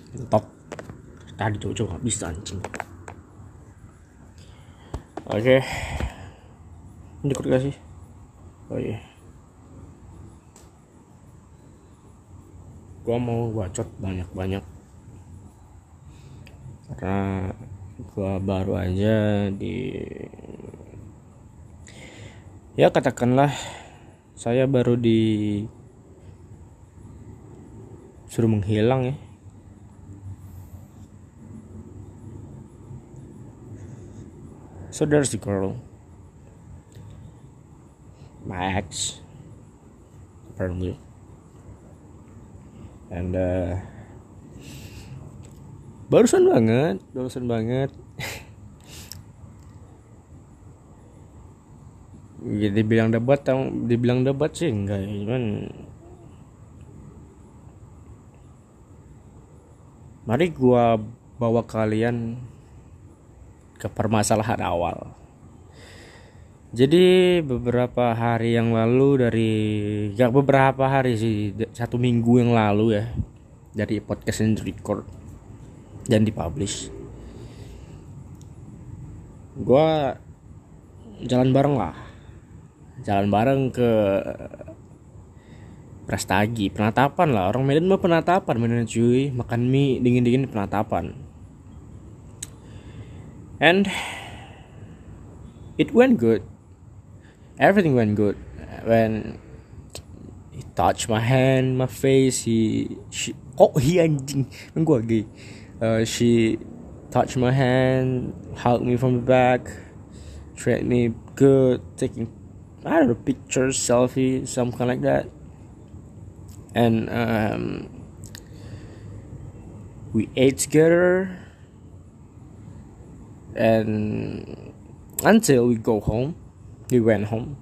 Top tadi coba nggak bisa anjing. Oke, ini ikut gak sih? Oh iya, gua mau bacot banyak karena gua baru aja ya katakanlah saya baru suruh menghilang ya. So there's the girl, my ex, apparently, and barusan banget. Ya, dibilang debat sih enggak ya, cuman mari gua bawa kalian ke permasalahan awal. Jadi beberapa hari yang lalu beberapa hari sih, 1 minggu yang lalu ya, dari podcast yang record dan dipublish, gua jalan bareng ke Prastagi, penatapan lah, orang Medan mah penatapan bener cuy, makan mie dingin penatapan. And it went good. Everything went good. When he touched my hand, my face, anjing, kan gua gay. She touched my hand, hugged me from the back, treated me good, taking pictures, selfie, something like that. And we ate together. And until we went home.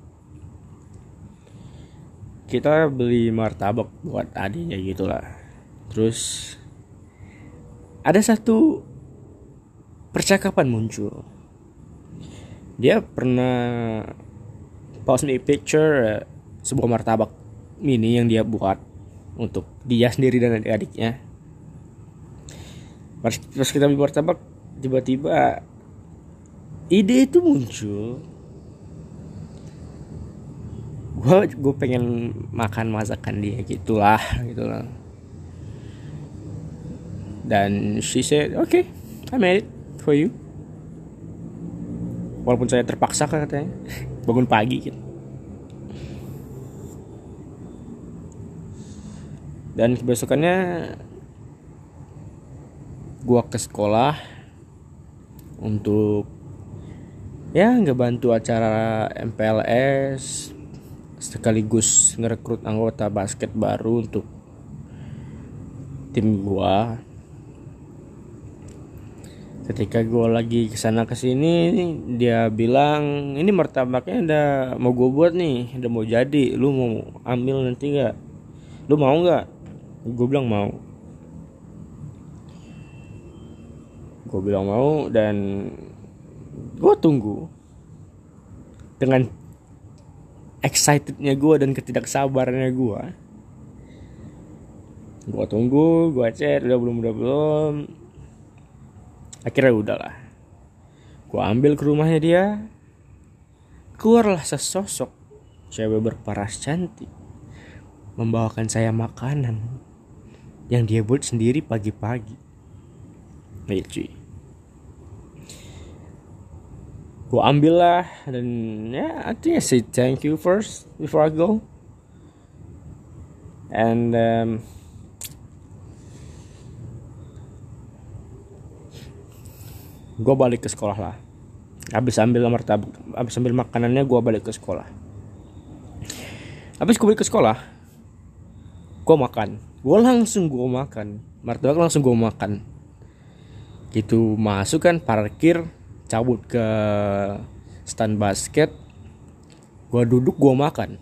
Kita beli martabak buat adiknya gitulah. Terus ada satu percakapan muncul. Dia pernah post me picture sebuah martabak mini yang dia buat untuk dia sendiri dan adik-adiknya. Pas kita beli martabak, tiba-tiba ide itu muncul. Gue pengen makan masakan dia gitulah. Dan she said, okay, I made it for you. Walaupun saya terpaksa katanya bangun pagi gitu. Dan kebesokannya gue ke sekolah untuk ngebantu acara MPLS, sekaligus ngerekrut anggota basket baru untuk tim gua. Ketika gua lagi kesana kesini, dia bilang ini martabaknya udah mau gua buat nih, udah mau jadi, lu mau ambil nanti nggak? Lu mau nggak? Gua bilang mau. Dan gue tunggu dengan excitednya gue dan ketidaksabarannya gue. Gue tunggu, gue chat udah belum. Akhirnya udahlah. Gue ambil ke rumahnya dia. Keluarlah sesosok cewek berparas cantik, membawakan saya makanan yang dia buat sendiri pagi-pagi. Cuy, gue ambil lah, dan I think I say thank you first before I go. And gue balik ke sekolah lah. Habis ambil makanannya, gue balik ke sekolah. Habis gue balik ke sekolah, gue makan. Martabak langsung gue makan. Gitu masuk kan, parkir, cabut ke stand basket, gue duduk, gue makan.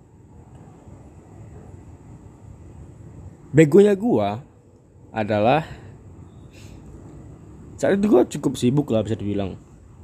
Begonya gue adalah saat itu gue cukup sibuk lah bisa dibilang.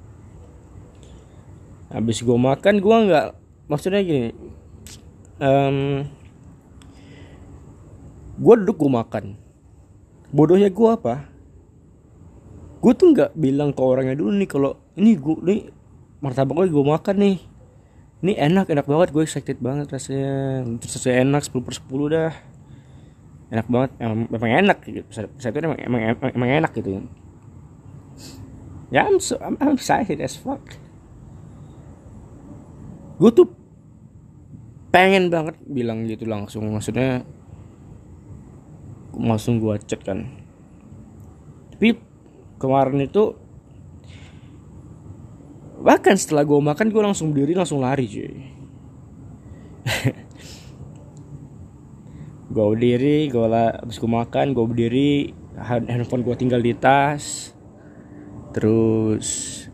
Habis gue makan, gue nggak, maksudnya gini, gue duduk, gue makan, Bodohnya gue apa? Gue tuh nggak bilang ke orangnya dulu nih kalau ini gue nih martabak gue makan nih. Ini enak banget, gue excited banget rasanya. Terus rasanya enak 10/10 dah. Enak banget, emang enak gitu. Saya itu emang enak gitu. Ya I'm excited as fuck. Gue tuh pengen banget bilang gitu langsung, maksudnya langsung gue chat kan. Tapi kemarin itu bahkan setelah gue makan gue langsung berdiri langsung lari cuy. Gue berdiri, abis gue makan gue berdiri, handphone gue tinggal di tas. Terus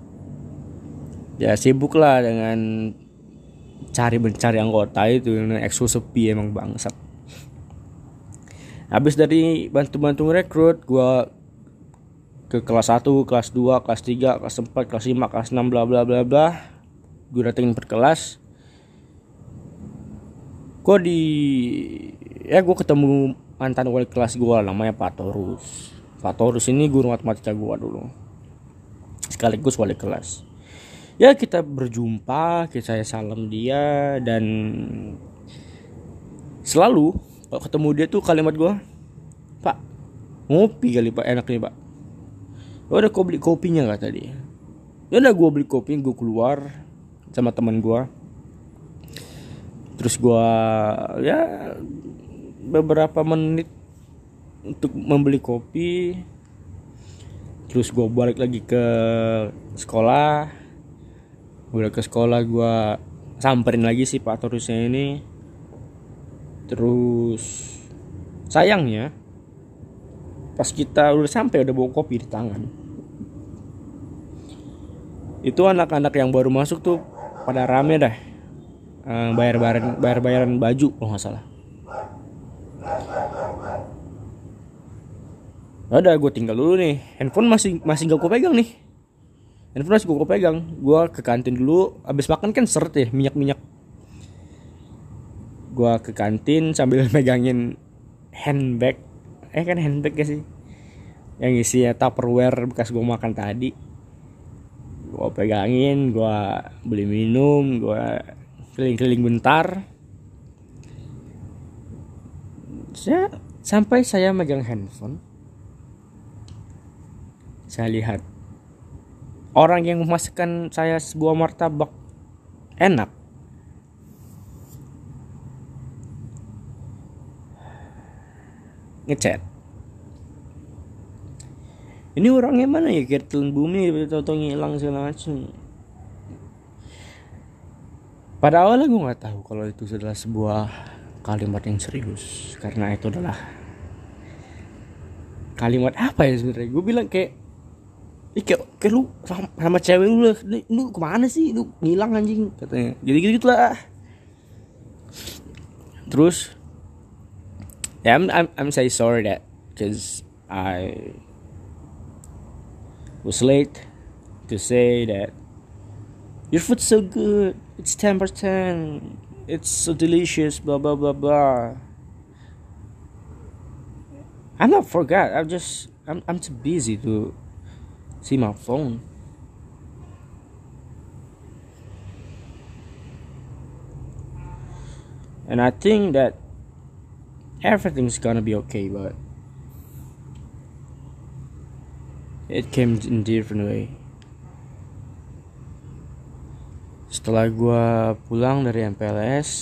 ya sibuk lah dengan mencari anggota itu. EXO sepi emang bangsat. Habis dari bantu ngerekrut, gue ke kelas 1, kelas 2, kelas 3, kelas 4, kelas 5, kelas 6 bla bla bla bla. Gue datengin per kelas. Gue ketemu mantan wali kelas gue namanya Pak Torus. Pak Torus ini guru matematika gue dulu, sekaligus wali kelas. Ya kita berjumpa, saya salam dia, dan selalu kalau ketemu dia tuh kalimat gue, Pak ngopi kali Pak, enak nih Pak. Udah kau beli kopinya gak tadi? Ya udah gue beli kopi, gue keluar sama teman gue. Terus gue ya beberapa menit untuk membeli kopi. Terus gue balik lagi ke sekolah. Udah ke sekolah gue samperin lagi si Pak Torusnya ini. Terus sayangnya pas kita udah sampai udah bawa kopi di tangan, itu anak-anak yang baru masuk tuh pada rame dah, bayaran baju kalau nggak salah. Udah gue tinggal dulu nih, handphone masih gak gue pegang nih. Gue ke kantin dulu, abis makan kan seret ya, minyak. Gue ke kantin sambil megangin handbag ya sih, yang isinya Tupperware bekas gue makan tadi. Gue pegangin, gue beli minum, gue keliling-keliling bentar. Sampai saya megang handphone, saya lihat orang yang memasakkan saya sebuah martabak enak. Ngechat, ini orangnya mana ya, kayak telan bumi tau-tau ngilang segala macam. Pada awalnya gue nggak tahu kalau itu adalah sebuah kalimat yang serius, karena itu adalah kalimat apa ya sebenarnya. Gue bilang kayak lu sama cewek lu kemana sih, lu ngilang anjing katanya, jadi gitu lah. Terus yeah, I'm say sorry that because I was late to say that your food's so good, it's 10%, it's so delicious, blah blah blah blah. I'm not forgot. I'm too busy to see my phone. And I think that everything's gonna be okay, but it came in different way. Setelah gue pulang dari MPLS,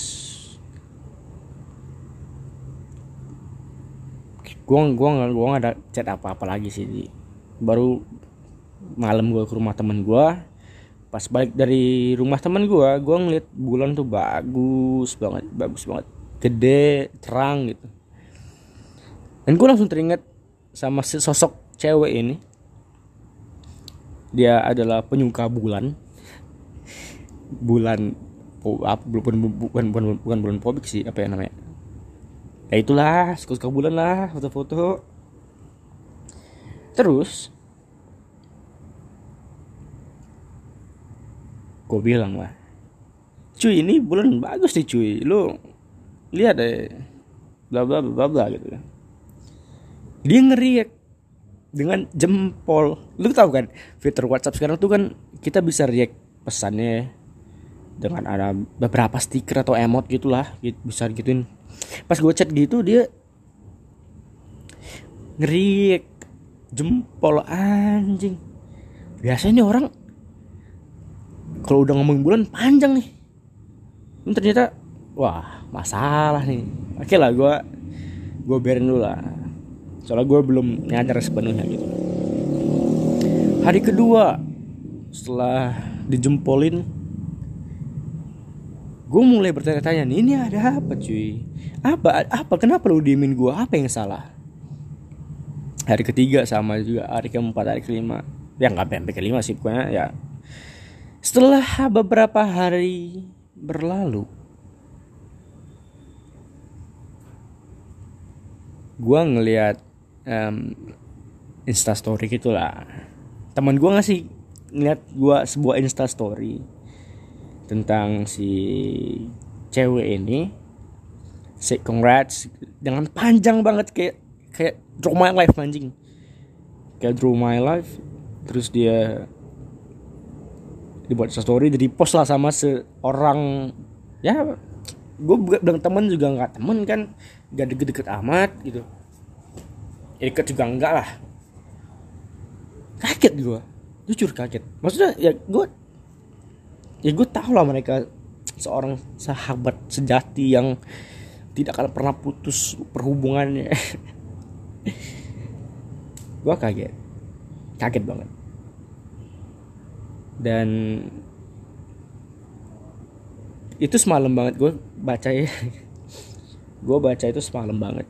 gue nggak ada chat apa lagi sih. Baru malam gue ke rumah temen gue. Pas balik dari rumah temen gue ngeliat bulan tuh bagus banget, gede, terang gitu. Dan gue langsung teringat sama sosok cewek ini. Dia adalah penyuka bulan bukan bulan fobik sih, apa ya namanya, ya itulah, suka bulan lah, foto-foto. Terus gue bilang lah, cuy ini bulan bagus nih cuy, lu lihat deh, bla bla bla bla gitu. Dia nge-react dengan jempol. Lu tahu kan fitur WhatsApp sekarang tuh kan kita bisa react pesannya dengan ada beberapa stiker atau emot gitulah, bisa gituin. Pas gue chat gitu dia nge-react jempol anjing. Biasanya nih orang kalau udah ngomongin bulan panjang nih. Ini ternyata wah masalah nih. Oke lah gue biarin dulu lah. Soalnya gue belum nyadar sepenuhnya gitu. Hari kedua setelah dijempolin, gue mulai bertanya-tanya nih, ini ada apa cuy? Apa kenapa lu diemin gue? Apa yang salah? Hari ketiga sama juga, hari keempat, hari kelima. Ya gak sampai kelima sih pokoknya ya. Setelah beberapa hari berlalu, gue ngeliat Instastory gitulah. Teman gue ngasih ngeliat gue sebuah Instastory tentang si cewek ini, say congrats dengan panjang banget kayak draw my life anjing, kayak draw my life. Terus dia dibuat story, jadi post lah sama seorang, ya gue bilang temen juga nggak temen kan, nggak deket-deket amat gitu, deket juga enggak lah. Kaget gue, jujur kaget. Maksudnya ya gue tahu lah mereka seorang sahabat sejati yang tidak akan pernah putus perhubungannya. Gue kaget banget. Dan itu semalam banget gue baca ya. Gue baca itu semalam banget.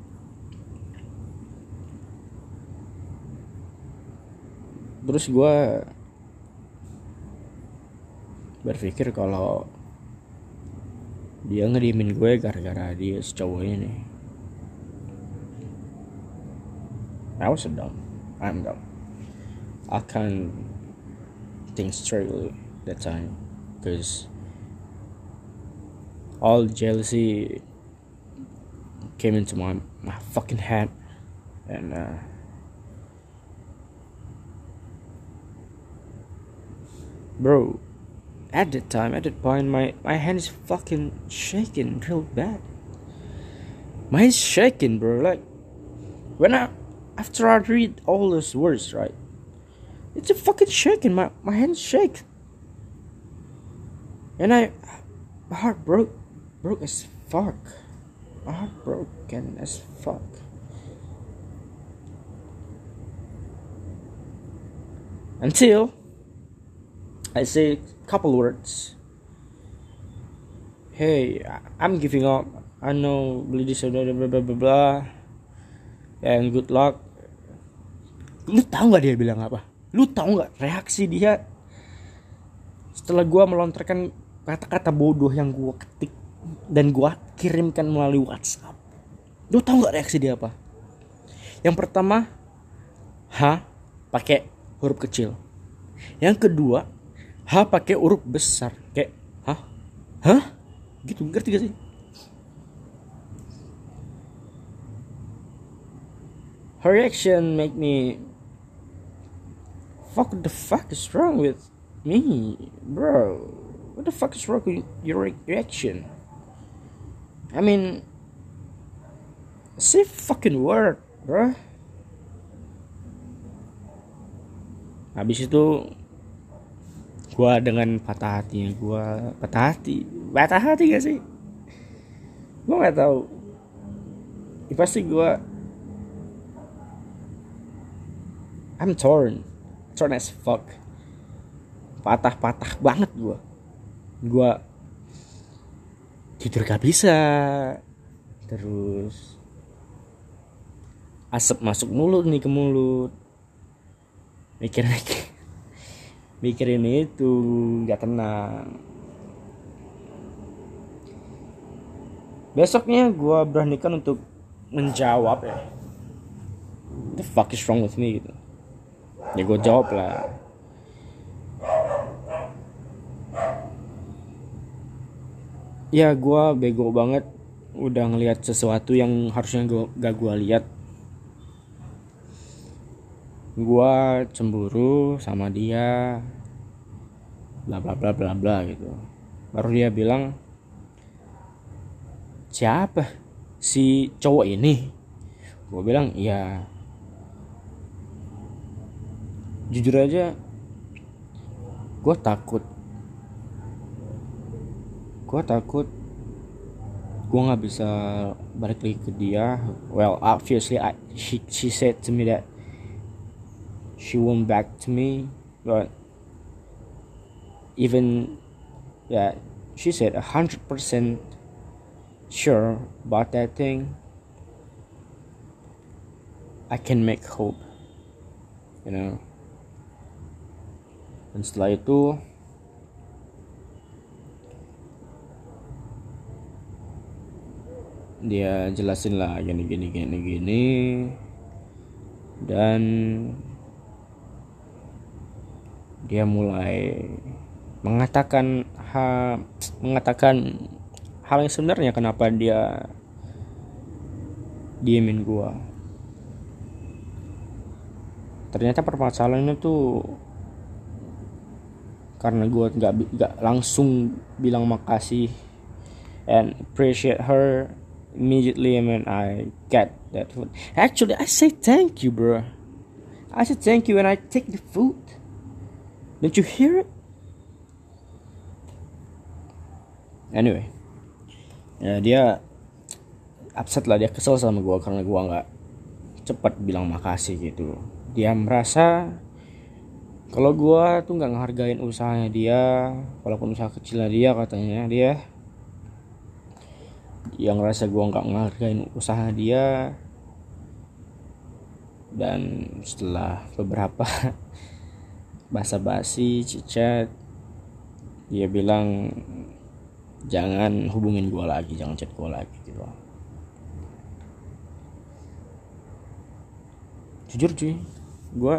Terus gue berpikir kalau dia ngediemin gue gara-gara dia cowok ini. I'm dumb. I can't think straightly that time because all jealousy came into my fucking head, and bro, at that point my hand is fucking shaking real bad. My hand's shaking, bro. Like after I read all those words, right, it's a fucking shaking. My hands shake, and my heart broke as fuck. My heart broken as fuck. Until I say a couple words. Hey, I'm giving up. I know blah blah blah blah blah. And good luck. Lu tahu nggak dia bilang apa? Lu tahu nggak reaksi dia setelah gue melontarkan kata-kata bodoh yang gue ketik dan gue kirimkan melalui WhatsApp? Lu tahu nggak reaksi dia apa? Yang pertama, pakai huruf kecil. Yang kedua, pakai huruf besar. Kayak gitu, ngerti gak sih? Her reaction make me, what the fuck is wrong with me, bro? What the fuck is wrong with your reaction? I mean, say fucking word, bro. Habis itu gua dengan patah hati gak sih? Gua nggak tahu. Ya, pasti gua I'm torn as fuck. Patah banget gua tidur gak bisa, terus asap masuk mulut nih, ke mulut, mikirin itu nggak tenang. Besoknya gua beranikan untuk menjawab ya, what the fuck is wrong with me gitu. Ya gue jawab lah, ya gue bego banget udah ngelihat sesuatu yang harusnya gak gue lihat. gua cemburu sama dia, bla bla bla bla bla gitu. Baru dia bilang, siapa si cowok ini? Gua bilang iya. Jujur aja gua takut gue nggak bisa balik lagi ke dia. Well, obviously she said to me that she won't back to me, but even yeah, she said 100% sure about that thing. I can make hope, you know. Dan setelah itu dia jelasin lah gini dan dia mulai mengatakan hal yang sebenarnya kenapa dia diemin gua. Ternyata permasalahannya tuh karena gua nggak langsung bilang makasih and appreciate her immediately when I get that food. Actually, I say thank you, bro. I say thank you when I take the food. Don't you hear it? Anyway, ya dia upset lah, dia kesel sama gue karena gue nggak cepat bilang makasih gitu. Dia merasa kalau gue tuh nggak ngehargain usahanya dia, walaupun usaha kecilnya dia, katanya dia yang ngerasa gue nggak ngehargain usaha dia. Dan setelah beberapa basa-basi cicat, dia bilang jangan hubungin gue lagi, jangan chat gue lagi gitu. Jujur cuy, gue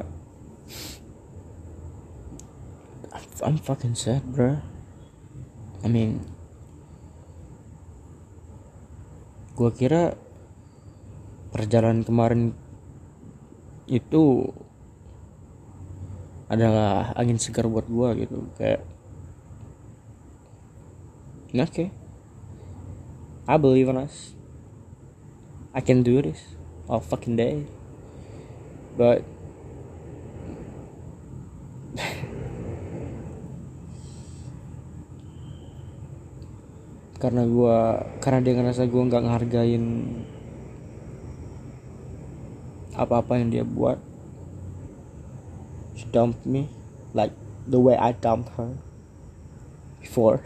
I'm fucking sad, bro. I mean, gue kira perjalanan kemarin itu adalah angin segar buat gue gitu, kayak okay, I believe in us, I can do this all fucking day, but karena dia ngerasa gue nggak ngehargain apa-apa yang dia buat, she dumped me like the way I dumped her before.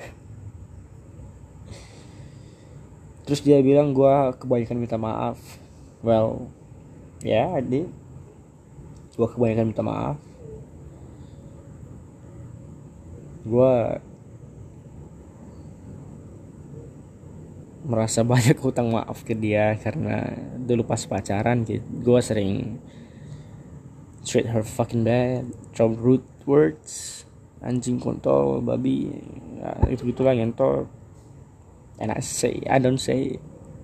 Terus dia bilang gue kebanyakan minta maaf. Well, yeah, I did. Gue kebanyakan minta maaf. Gue merasa banyak hutang maaf ke dia karena dulu pas pacaran gitu, gue sering treat her fucking bad, throw rude words, anjing, kontol, babi, ya, itu gitulah ngentot. And I don't say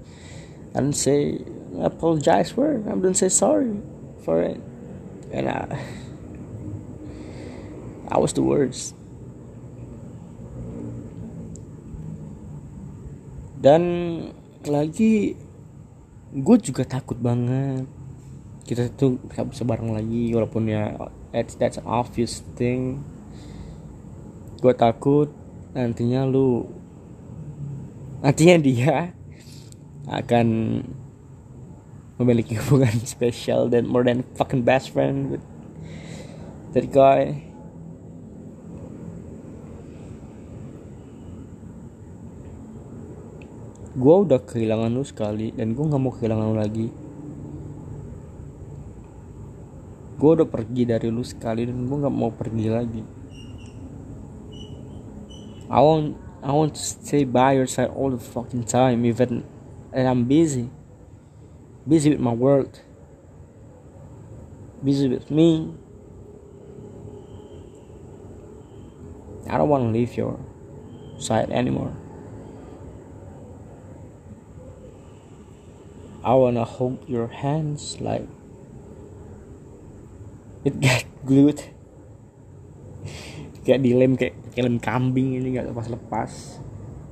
apologize for it. I don't say sorry for it. And I was the worst. Dan lagi gue juga takut banget kita tuh gak bisa bareng lagi, walaupun ya that's an obvious thing. Gue takut nantinya dia akan memiliki hubungan spesial dan more than fucking best friend with that guy. Gue udah kehilangan lu sekali dan gue gak mau kehilangan lu lagi. Gue udah pergi dari lu sekali dan gue gak mau pergi lagi. I want to stay by your side all the fucking time, even and I'm busy with my work, busy with me. I don't want to leave your side anymore. I wanna hold your hands like It got glued. Kayak dilem, kayak lem kambing, ini nggak lepas.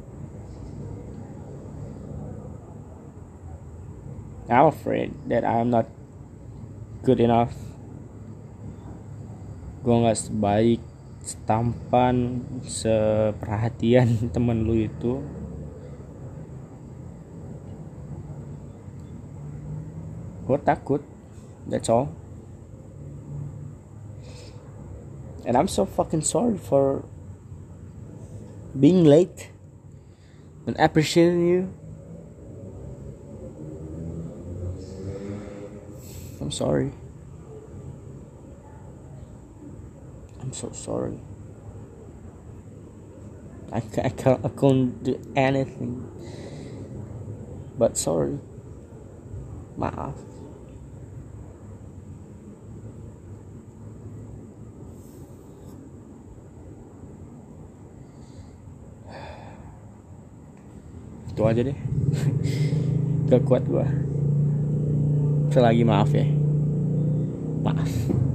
I'm afraid that I'm not good enough. Gue nggak sebaik, setampan, seperhatian temen lu itu. Gue takut. That's all. And I'm so fucking sorry for being late and appreciating you. I'm sorry. I'm so sorry. I couldn't do anything but sorry. Maaf. Itu aja deh. Gak kuat gua. Selagi maaf ya. Maaf.